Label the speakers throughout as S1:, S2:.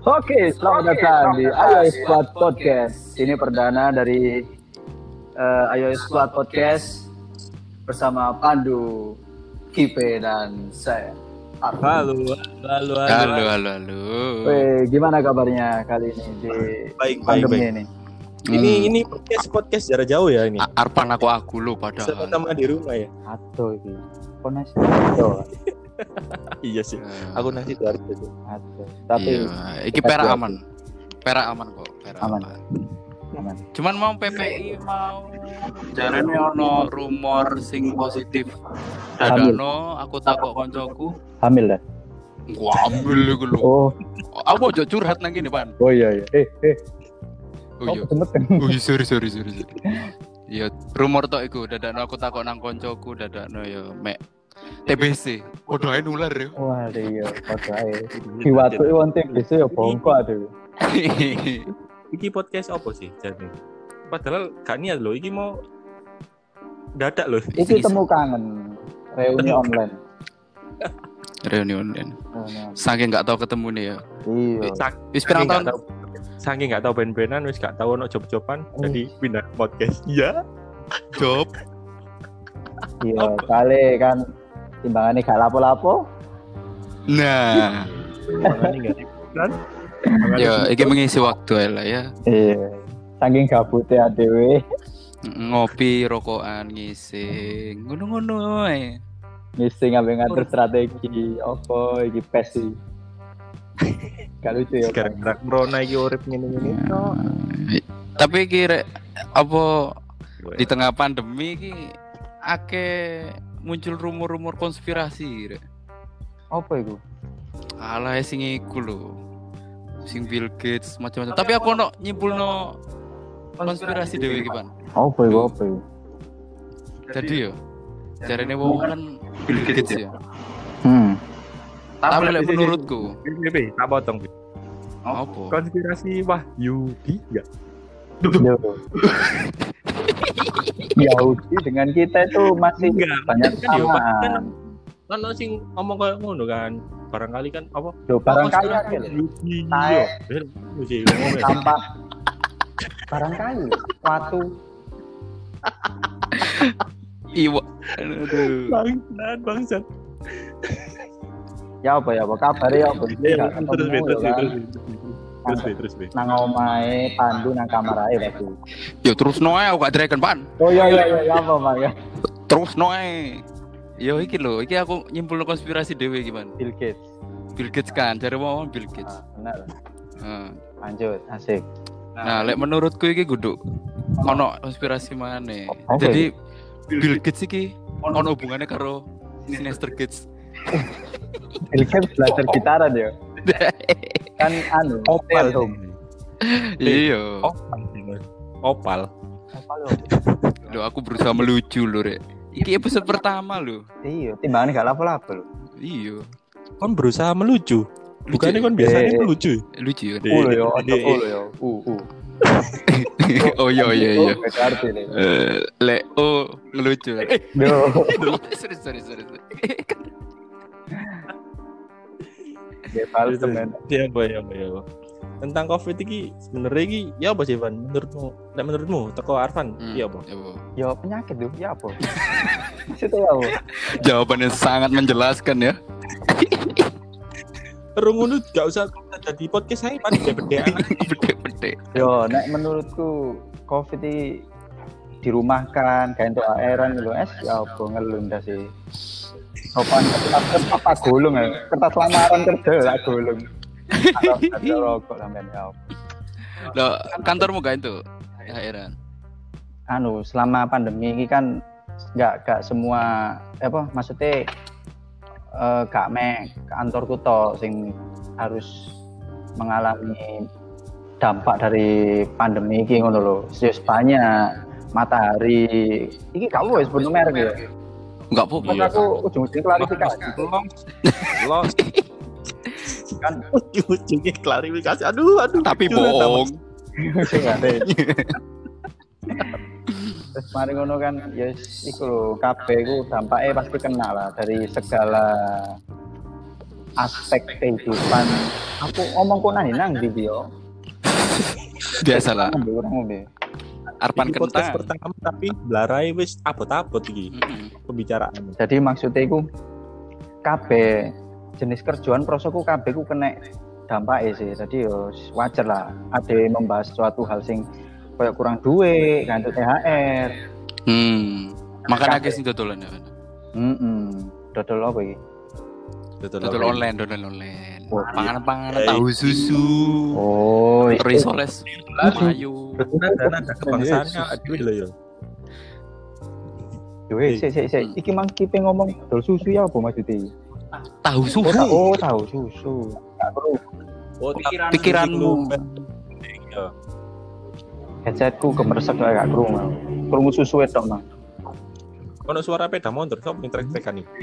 S1: Oke, selamat datang di Ayo Squad Podcast. Ini perdana dari Ayo Squad Podcast bersama Pandu, Kipe, dan saya.
S2: Halo.
S1: Weh, gimana kabarnya kali ini di pandemi ini?
S2: Ini podcast jarak jauh ya ini.
S3: Arpan aku lo padahal.
S2: Sama di rumah ya.
S1: Aduh ini. Konas itu.
S2: Iya sih. Aku nasi dari itu.
S1: Aduh. Tapi
S3: iki perak aman. Perak aman kok,
S1: aman.
S3: Cuman mau PPI mau jarene ono rumor sing positif. Dadano aku takok koncoku.
S1: Hamil dah.
S3: Wah, hamil iku lho.
S1: Oh.
S3: Aku ojo curhat nang kene, Pan.
S1: Oh iya.
S3: Oh iya. Oh sorry. Iya, rumor tok iku dadakno aku takok nang koncoku dadakno ya mek TBC. Podo ae nular ya.
S1: Wah, iya, podo ae. Diwatu wong TBC ya bongkok aduh.
S2: Iki podcast apa sih jadi? Padahal gak niat lho, iki mau dadak lho.
S1: Iki temu kangen reuni online.
S3: Reuni online. Saking gak tau ketemu nih ya.
S1: Iya.
S3: Wis pirang tahun
S2: saking gak tau ben-benan wis gak tau ono job-joban jadi pindah podcast. Iya.
S3: job.
S1: Iya, kali kan timbangannya gak lapo-lapo.
S3: Nah.
S2: Timbangannya gak kan?
S3: Ya, iki mengisi waktu lah ya.
S1: Iya. Saking gabutnya adewe.
S3: Ngopi, rokokan, ngising, ngono-ngono ae.
S1: Ngising ambek ngatur strategi apa iki pes iki. Gak lucu ya.
S2: Sekarang corona iki urip ngene-ngene.
S3: Tapi kira apa di tengah pandemi iki akeh muncul rumor-rumor konspirasi.
S1: Apa itu?
S3: Alah sing iku lho. Sing Bill Gates macam-macam. Tapi aku ono nyimpulno konspirasi dhewe iki, Pan.
S1: Apa itu?
S3: Jadi yo jarene wong kan Bill Gates ya. Tapi lek menurutku,
S2: tak potong.
S3: apa?
S2: Konspirasi Wahyudi enggak?
S1: Yahudi dengan kita itu masih banyak
S2: kesamaan. Kan sing ngomong kayak ngono kan. Barangkali kan apa?
S1: Yo barangkali aja.
S2: Iya.
S1: Sampah. Barangkali waktu
S3: Iwa. Aduh.
S2: Bangsat.
S1: Ya apa kabar ya apa
S2: Terus.
S1: Nang omahe Pandu nang kamar ae pasti.
S3: Yo terus noe aku gak dreken, Pan.
S1: Oh iya apa Mak ya.
S3: Terus noe. Yo iki lho, iki aku nyimpulno konspirasi dhewe iki, Pan.
S1: Bill Gates
S3: kan, jare wong Bill Gates.
S1: Benar. Lanjut, asik.
S3: Nah, lek menurutku iki kudu ono konspirasi maneh. Jadi Bill Gates iki ono hubungannya karo Sinister Gates.
S1: Bill Gates belajar gitaran ya. Kan
S2: Opal
S1: dong.
S3: Iya.
S2: Opal.
S3: Loh, aku berusaha melucu lho, Rek. Iki episode pertama lho.
S1: Iya, timbangannya gak lapo-lapo lho.
S3: Iya.
S2: Kon berusaha melucu. Bukannya kon biasanya melucu.
S3: Lucu ya.
S1: Yo.
S3: Oh iya.
S1: Berarti nih.
S3: Lek ngelucu. Sorry.
S2: Ya, boy. Tentang Covid iki sebenarnya iki ya apa sih, Van? Menurutmu teko Arfan iya apa?
S1: Ya penyakit tuh, ya apa? Situ apa?
S3: Jawabannya sangat menjelaskan ya.
S2: Rungun gak usah jadi podcast saya Pan
S3: Bede.
S1: Yo, nek menurutku Covid iki dirumahkan, kayak untuk airan lho, ya apa ngelunda sih. Sopan kertas gulung ya, kertas lamaran kerja lah gulung. Ada rokok sampean ya.
S3: Loh, kantormu gak itu? Heran.
S1: Selama pandemi ini kan gak semua maksudnya gak kantorku tok sing harus mengalami dampak dari pandemi ini ngono lho. Serius banyak Matahari. Iki kamu wis bener merek ya.
S3: Enggak apa-apa.
S1: Mas aku ujung-ujungnya klarifikasi.
S2: Los. Kan ujung-ujungnya klarifikasi. Aduh.
S3: Tapi bohong.
S1: Terus mari ngono kan ya iku lho kabeh iku dampaknya pasti kena lah dari segala aspek kehidupan Aku omong kok nang ndi yo.
S3: Biasalah.
S1: Ngombe.
S2: Ini
S3: Arpan
S2: podcast
S3: kentang.
S2: pertama tapi belarai wis abot-abot iki pembicaraan.
S1: Jadi maksudnya iku kabeh jenis kerjaan prosoku kabeh ku kena dampake sih. Jadi yo wajar lah ada membahas suatu hal sing kayak kurang duit, ganti THR.
S3: Makanya akeh sing dodolan ya.
S1: Dodol apa iki?
S3: Dodol online.
S1: Oh,
S3: Panganan-panganan tahu susu.
S1: Oh,
S3: Risoles. Ayu.
S2: Ada kebangsaannya aduh lho yo.
S1: Yo sik. Iki mang kipe ngomong dodol susu ya apa maksudnya?
S3: Tahu susu.
S1: Tahu susu. Gak perlu.
S2: Oh,
S3: Pikiranmu.
S1: Headsetku kemeresek gak krungu. Krungu susu tok, Mang.
S2: Ono suara sepeda motor sok trek-trekan iki.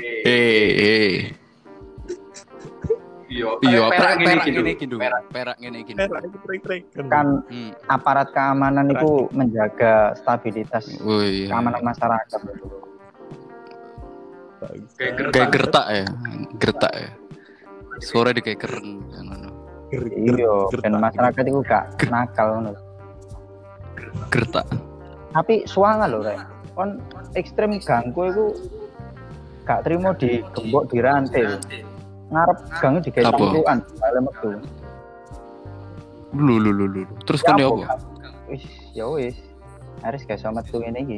S3: Iya, perak ngene iki. Perak ngene iki.
S2: Trek-trekan.
S1: Kan aparat keamanan itu menjaga stabilitas keamanan masyarakat.
S3: Kayak gertak ya. Suara di kayak keren ngono.
S1: Iya, dan masyarakat itu gak nakal ngono.
S3: Gertak.
S1: Tapi suanga lho, Rek. Kon ekstrem ganggu itu gak terima digembok dirantai. Ngarep gang digawe cangkruan, bale metu.
S3: Lu. Terus kan ya apa?
S1: Wis. Harus gak iso metu ngene iki.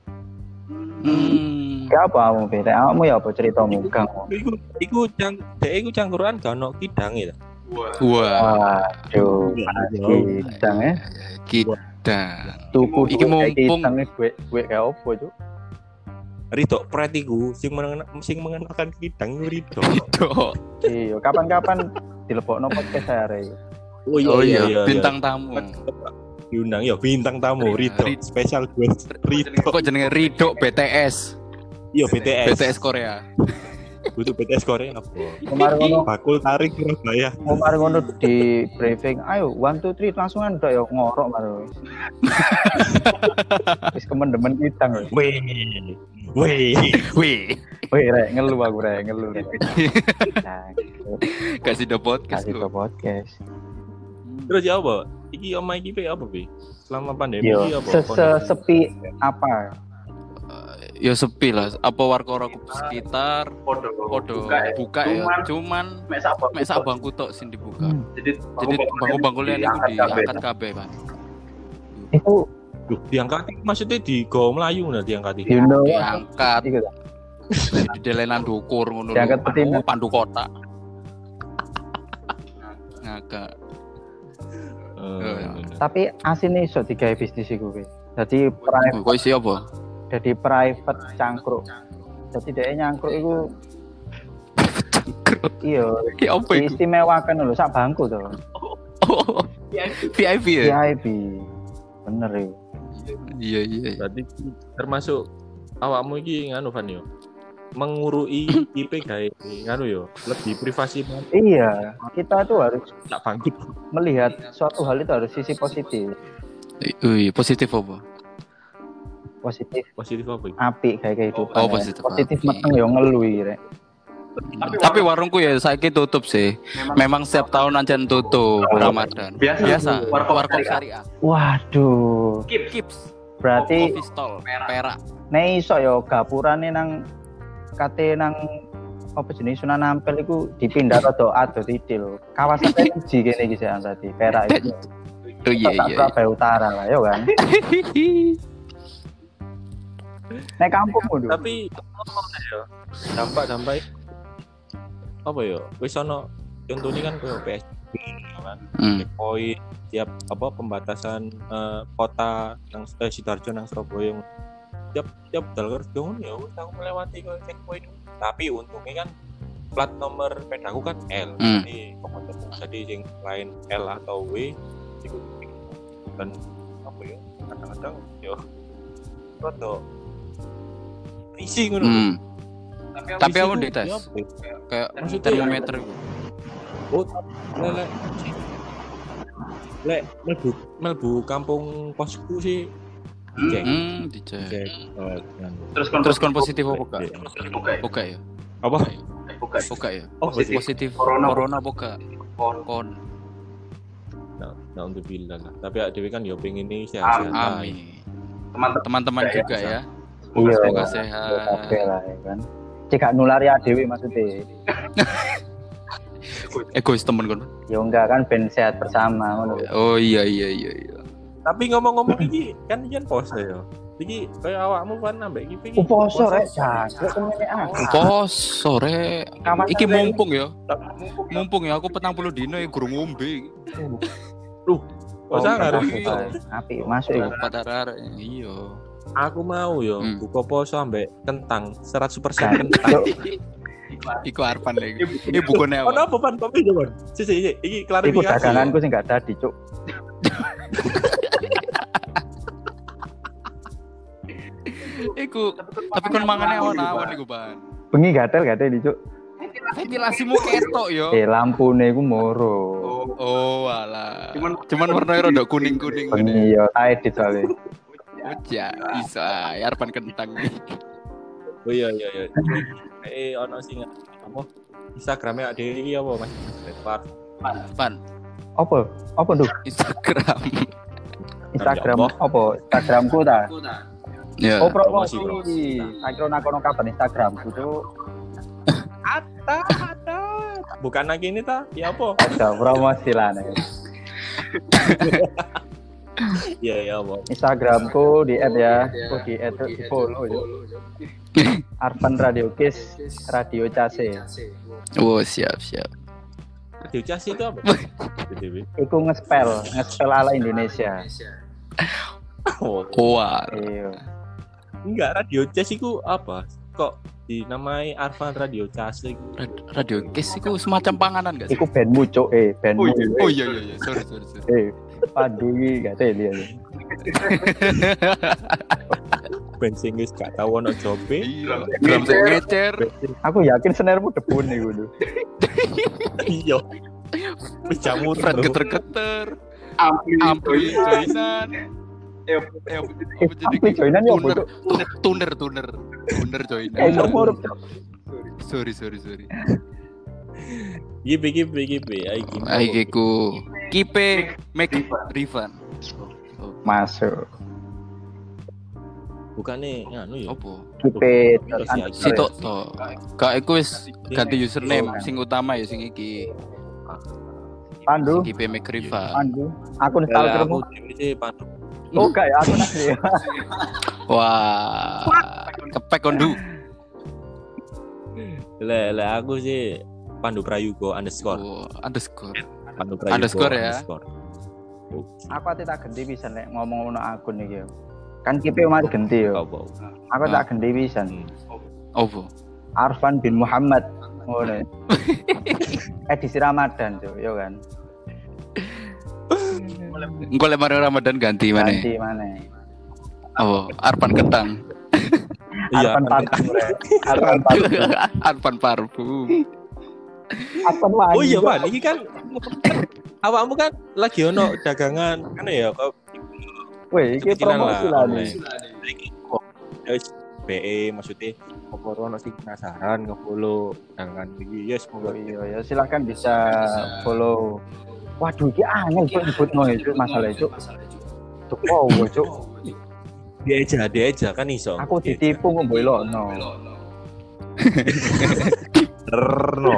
S1: Ya apa kamu beda? Kamu ya apa ceritamu gang?
S2: Iku cangkruan gak ono kidang ya.
S3: Wah.
S1: Waduh, kidang ya.
S3: Kidang.
S1: Tuku
S3: iki mumpung
S1: gue kayak opo, Cuk?
S2: Ridho pret iku sing mengenakan kidang Ridho.
S1: Iya, kapan-kapan dilebokno podcast are.
S2: Oh iya,
S3: bintang tamu.
S2: Diundang ya bintang tamu Ridho, spesial guest Ridho.
S3: Kok jenenge Ridho BTS?
S2: Iya BTS.
S3: BTS Korea.
S2: Butuh BTS Korea apa?
S1: Kemarin ngono
S2: bakul tarik Surabaya.
S1: Kemarin ngono di briefing, ayo 1 2 3 langsungan ndak ya ngorok baru. Wis kemendemen kidang.
S2: Weh.
S1: Wih, Rek, ngeluh aku, Rek.
S3: Kasih do podcast lu.
S1: Podcast.
S2: Terus ya apa? Iki omah iki pe apa, Bi? Selama pandemi iki apa?
S1: Sepi apa?
S3: Ya sepi lah. Apa warga sekitar podo buka ya. Cuman mek sak bangku tok sing dibuka. Jadi bangku-bangku liyan iku diangkat kabeh, Pak.
S1: Itu
S2: diangkat maksudnya di Go Melayu nah diangkat.
S3: Diangkat. Di delenan dukur ngono.
S1: Diangkat betina
S3: pandu kota. Ngagak.
S1: Tapi asine iso digawe bisnis iku kuwi. Dadi private.
S3: Kok isi apa?
S1: Jadi private cangkruk. Jadi dhek nyangkruk iku iya,
S3: apa iku?
S1: Istimewakan lho sak bangku to.
S3: VIP ya?
S1: VIP. Bener ya.
S3: Iya.
S2: Berarti termasuk awakmu iki nganu Van yo. Mengurui IP gawe nganu yo, lebih privasi banget.
S1: Iya, kita tuh harus
S2: tak bangkit
S1: melihat suatu hal itu harus sisi positif.
S3: Positif apa?
S1: Positif
S2: apa iki?
S1: Apik kayak kehidupan.
S3: Oh, positif
S1: meteng yo ngeluhi rek.
S3: Tapi warungku ya saiki tutup sih. Memang setiap tahun anjen tutup Ramadan. Biasa. Warkop syariah.
S1: Waduh.
S3: Kips.
S1: Berarti
S3: pistol perak.
S1: Nek iso yo gapurane nang kate nang apa jenis Sunan Ampel iku dipindah rada ado titil. Kawasan Ji kene iki sik tadi. Perak itu.
S3: Oh iya.
S1: Surabaya Utara lah yo kan. Nek kampungmu lho.
S2: Tapi dampak apa ya? Wis ono contohnya kan koyo PSBB kan. Poin tiap apa pembatasan kota nang Sidoarjo nang Surabaya. Tiap dal kerja ya wis aku melewati koyo checkpoint. Tapi untungnya kan plat nomor pedaku kan L. Jadi sing lain L atau W ikut dan apa ya? Kadang-kadang yo rada isi ngono.
S3: Tapi aku dites. Kayak termometer iku.
S2: Oh, lek melbu kampung posku sih dicek.
S3: Terus kon positif apa enggak? Buka ya.
S2: Apa?
S3: Buka ya. Positif corona buka. kon.
S2: Nah untuk bilang lah. Tapi Dewi kan yo pengen ini sehat-sehat.
S3: Amin. Teman-teman juga ya.
S1: Iya,
S3: Semoga sehat.
S1: Oke lah ya kan. Cek nulari adewe maksudnya.
S3: Egois temen kon.
S1: Ya enggak kan ben sehat bersama ngono.
S3: Oh iya.
S2: Tapi ngomong-ngomong iki kan yen poso ya. Iki kaya awakmu kan ambek iki pengen.
S1: Poso rek jago kemene aku.
S3: Poso rek. Iki mumpung ya. Mumpung ya aku 40 dino ya gurung ngombe.
S2: Poso arep iki.
S1: Apik masuk ya.
S3: Patar iya.
S2: Aku mau yo buka poso ambek kentang 100% kentang.
S3: Iku Arfan lagi. Ini bukunya
S2: Ono
S3: apa?
S2: apa pan kopi yo, Kon? Sisi iki
S1: Iku
S2: klarifikasi.
S1: daganganku sing gak tadi, Cuk.
S3: Iku tapi kon mangane awan-awan iku, Ban.
S1: Bengi gatel di, Cuk.
S3: Ventilasimu ketok yo.
S1: Lampune iku moro.
S3: Oh, alah. Cuman warnanya rada kuning-kuning
S1: Bengi yo edit soalnya.
S3: Ya, bisa. Arfan kentang.
S2: Oh iya. Ono sing apa? Instagramnya ada iki apa, Mas?
S3: Pan.
S1: Apa tuh?
S3: Instagram.
S1: Instagram apa? Instagramku ta.
S3: Ya.
S1: Oh, promosi. Aku nakono kapan Instagramku, Cuk.
S2: Ada. Bukan lagi ini ta? Ya apa?
S1: Ada promosi lah nih.
S2: Iya apa?
S1: Instagramku di add ya. Di add di follow ya. Arfan Radio Kiss Radio Case.
S3: Oh, siap.
S2: Radio Case itu apa?
S1: Iku ngespel ala Indonesia.
S2: Oh,
S3: Wah.
S1: Iya.
S2: enggak, Radio Case itu apa? Kok dinamai Arfan Radio Case itu?
S3: Radio Kiss iku semacam panganan gak sih?
S1: Iku bandmu, Cuk. Bandmu.
S3: Oh iya. Sorry.
S1: Padu iki gak teli ya.
S2: Ben sing wis gak tau ono jobe.
S3: Iya. Drum sing ngecer.
S1: Aku yakin senermu debun iku lho.
S2: Iya. Wis jamur
S3: Fred geter-geter. Ampli joinan.
S1: Ampli joinan ya, Cuk.
S3: Tuner joinan.
S1: Nomor.
S3: Sorry.
S2: Gipi.
S3: Aiki ku Kipe make refund.
S1: Masuk.
S2: Bukannya nganu ya?
S3: Opo?
S1: Kipe
S3: Sitok to. Kak iku wis ganti username sing utama ya sing iki.
S1: Pandu.
S3: Kipe make refund.
S1: Pandu. Akun stalkermu.
S2: Iki Pandu.
S1: Oh, gak ya akun asli.
S3: Wah. Kepek kondu.
S2: Le aku sih Pandu Prayugo _.
S3: Oh, underscore.
S2: Pandu Prayugo
S3: Underscore ya.
S1: Aku ate tak ganti pisan nek ngomong ngono akun iki yo. Kan kipe mari ganti yo.
S2: Apa?
S1: Aku tak ganti pisan.
S3: Opo?
S1: Arfan bin Muhammad ngono. Edisi Ramadan, Cuk, yo kan.
S3: Engko lek mari Ramadan ganti mana?
S1: Ganti mana?
S3: Oh, Arfan kentang.
S2: Iya.
S1: Arfan parfum. Arfan parfum.
S3: Arfan parfum.
S1: Arfan wangi.
S2: Oh iya, Pan, iki kan awakmu kan lagi ono dagangan kan ya kok
S1: Weh, iki promosi lah nih.
S2: BE maksudnya apa ono sing penasaran nge-follow dagangan iki ya semoga
S1: Iya, silakan bisa follow. Waduh, iki angel Cuk nyebutno ya, Cuk, masalah itu. Cuk, Cuk.
S2: dia aja kan iso.
S1: Aku ditipu ngomboilono.
S2: Rno.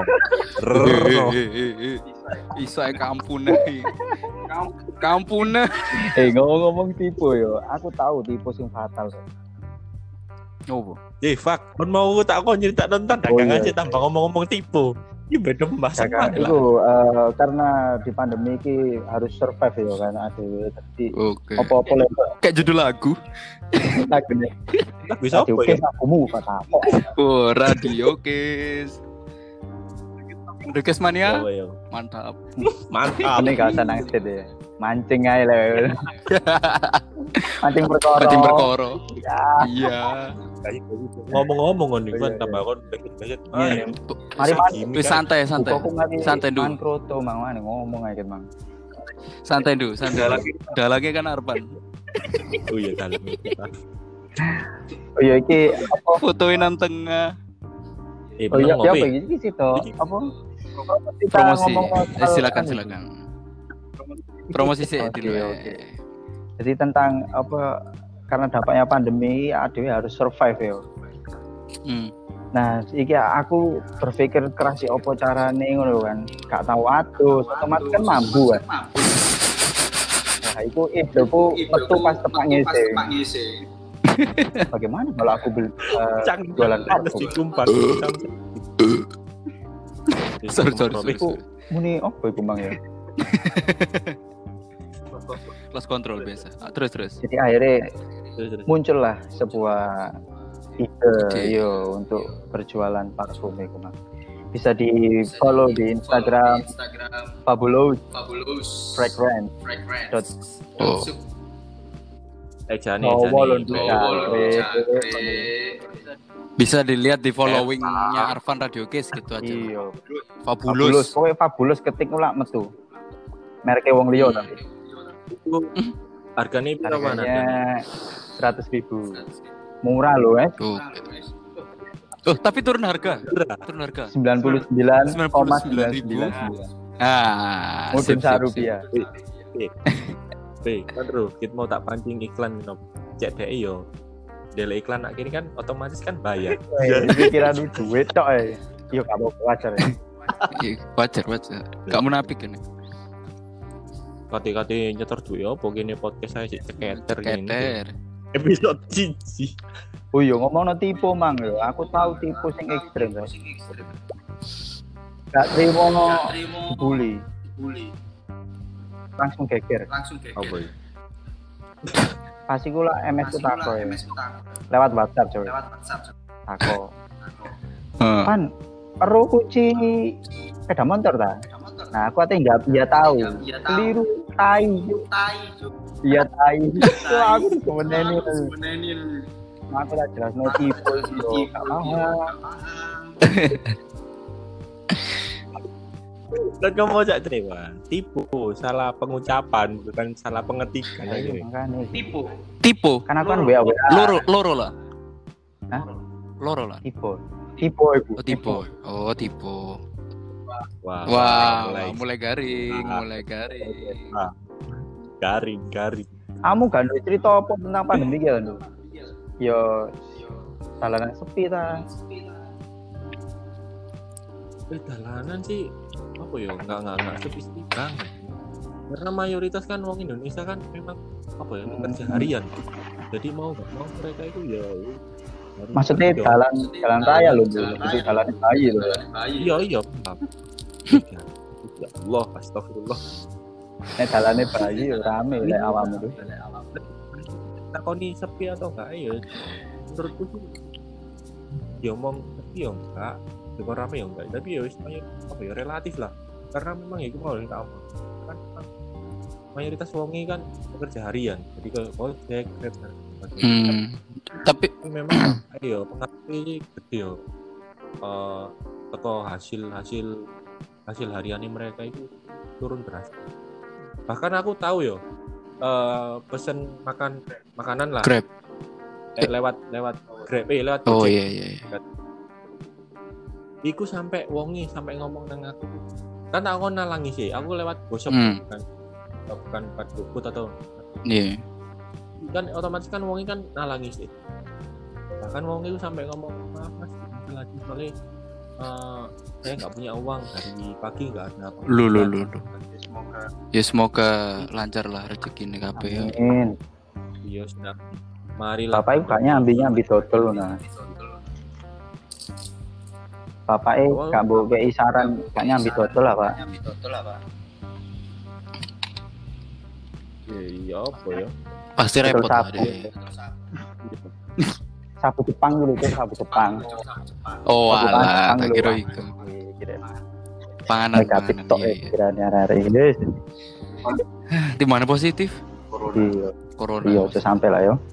S3: Iso ae kampune. Kampune.
S1: Ngomong-ngomong tipu yo, aku tahu tipu sing fatal.
S3: Opo?
S2: Fuck, kon mau tak kon cerita tentang dagangan aja tambah ngomong-ngomong tipu. Ini beda pembahasan
S1: Dagang
S2: lah.
S1: itu karena di pandemi ini harus survive ya kan adewe dadi
S3: Oke.
S1: apa-apa lek
S3: Kayak judul lagu.
S1: lagune.
S2: Bisa apa ya?
S1: Akumu kata apa?
S3: Oh, Radio Kiss. Radio Kiss mania.
S2: Oh, iya.
S3: Mantap.
S2: Mantap.
S1: Ini gak usah nangis deh. Mancing aja lah. Mancing perkara.
S3: Pancing perkara.
S1: Ya.
S3: Iya.
S2: Ngomong-ngomong kon iki
S1: Iya, iya.
S2: tambah kon beget-beget.
S1: Iya.
S2: Mari
S3: Wis santai. Santai dulu.
S1: Kroto mangane ngomong aja Mang.
S3: Santai dulu. Dalage kan Arfan.
S2: Oh iya dalam.
S1: Oh iya iki apa?
S3: Fotoin nang tengah.
S1: Oh iya
S2: ngopi.
S1: apa iki sih to? Apa? Kita
S3: Promosi.
S1: ngomong
S3: Silakan. Promosi sih
S1: Oke,
S3: dulu.
S1: oke. Jadi tentang apa karena dampaknya pandemi adewe harus survive ya. Nah, iki aku berpikir keras opo carane ngono kan. Gak tahu atus, otomatis kan mambu kan. Nah, itu ideku metu pas tepak ngisi. Bagaimana kalau aku beli jualan kartu?
S2: Dikumpat.
S3: Sorry.
S1: Iku muni opo iku Mang ya?
S3: Close control biasa. Terus.
S1: Jadi akhirnya muncullah sebuah ide untuk berjualan parfum itu Mang. Bisa di follow di Instagram Fabulous Fragrance.
S2: Ejane.
S3: Bisa dilihat di followingnya Arfan Radio Case gitu aja.
S1: Iya.
S3: Fabulous.
S1: Pokoknya Fabulous ketik mulak metu. Mereknya wong liya tapi.
S2: Itu harganya berapa mana?
S1: Harganya 100.000. Murah loh
S3: Tapi turun harga.
S1: 99,999. Mungkin rupiah.
S2: Kan kita mau tak pancing iklan cek DE yo. Dele iklan nak kini kan otomatis kan bayar.
S1: Pikiran duit tok Yo kamu wajar ya.
S3: Wajar. Gak munafik kan.
S2: Kati-kati nyetor duit opo gini podcast saya sih ceketer gini. Episode cici.
S1: Oh iya ngomong tipu Mang yo. Aku tahu tipu sing ekstrem guys. Gak terima dibully. Langsung geger.
S2: Apa ya?
S1: Pasti kula MS ku tako ya. Lewat WhatsApp coy. Tako. Kan perlu kunci sepeda motor ta? Nah, aku ate enggak dia tahu. Keliru tai. Iya tai. Aku sebenarnya aku tak jelas no tipu yo.
S2: Kan kamu mau cak terima tipu, salah pengucapan bukan salah pengetikan aja.
S3: Tipu.
S1: Kan aku kan WA.
S3: Loro lah.
S1: Hah?
S3: Loro lah.
S1: Tipu iku.
S3: Tipu.
S2: Wah,
S3: mulai garing.
S2: Garing.
S1: Kamu kan cerita apa tentang pandemi ya lho? Yo jalanan sepi ta.
S2: Dalanan sih apa ya nggak sepi banget. Karena mayoritas kan wong Indonesia kan memang apa ya kerja harian. Jadi mau nggak mau mereka itu ya
S1: maksudnya jalan raya loh dulu, itu jalan bayi loh ya.
S2: Iya. Ya Allah, astagfirullah.
S1: Nek jalane bayi rame lek awakmu tuh.
S2: Takoni sepi atau enggak ya? Menurutku sih ya omong sepi ya enggak, juga rame ya enggak. Tapi ya wis apa ya relatif lah. Karena memang ya itu mau tak omong. Kan mayoritas wongi kan pekerja harian. Jadi ke project
S3: Tapi
S2: memang ayo pengaruh gede yo. Teko hasil harian mereka itu turun drastis. Bahkan aku tahu yo pesen makanan lah
S3: Grab
S2: lewat Grab lewat
S3: Gojek.
S2: Oh
S3: iya.
S2: Iku sampai wongi sampai ngomong nang aku kan aku nalangi sih aku lewat GoShop bukan GoFood atau kan otomatis kan wongi kan nalangi sih bahkan wongi itu sampai ngomong maaf mas lagi soalnya saya nggak punya uang dari pagi nggak ada apa
S3: lu semoga lancar lah rezeki nih kabeh ya.
S1: Amin.
S2: Iya sudah mari lah
S1: bapak ibu kayaknya ambil dodol nah bapak gak mau kei saran kayaknya ambil dodol lah pak
S2: iya apa ya
S3: pasti repot lah deh.
S1: Sabu Jepang dulu itu sabu Jepang
S3: alah tak kira itu panganan
S1: kiranya hari
S3: di mana positif
S1: corona iya udah sampai lah yo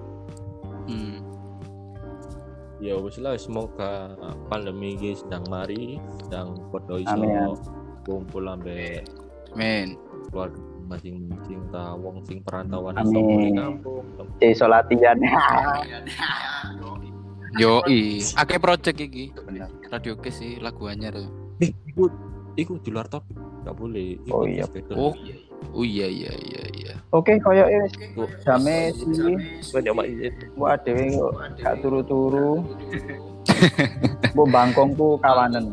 S2: ya wis lah semoga pandemi ini sedang mari sedang podo iso kumpul ambek keluarga masing-masing ta wong sing perantauan iso mulih kampung
S1: iso latihan
S3: yoi akeh project iki Radio Case sih lagu anyar
S2: Iku di luar topik, nggak boleh. Iku
S1: Oh iya.
S2: beda.
S3: Oh iya.
S1: Oke, koyo jame sih.
S2: Banyak mak itu.
S1: Gua dhewe kok gak turu-turu. Mbok bangkongku kawanen.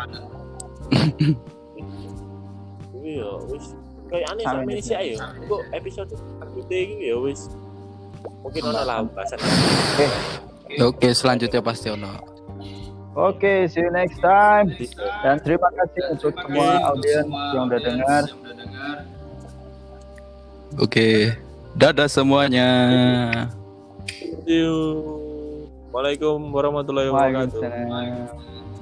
S2: Iya, wis. Kayak aneh sama ini sih ayo. Kok episode selanjutnya ini ya wis. Mungkin ono lah bahasan.
S3: Oke, selanjutnya pasti ono.
S1: Oke, see you next time. Dan terima kasih untuk semua audiens yang udah dengar.
S3: Oke. Dadah semuanya.
S2: See you. Waalaikumsalam warahmatullahi wabarakatuh.
S1: Waalaikumsalam.